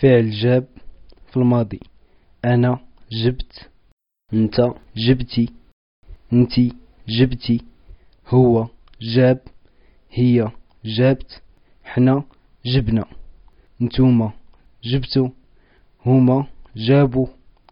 فعل جاب في الماضي. أنا جبت، أنت جبتي، أنتي جبتي، هو جاب، هي جابت، حنا جبنا، نتوما جبتو، هما جابوا.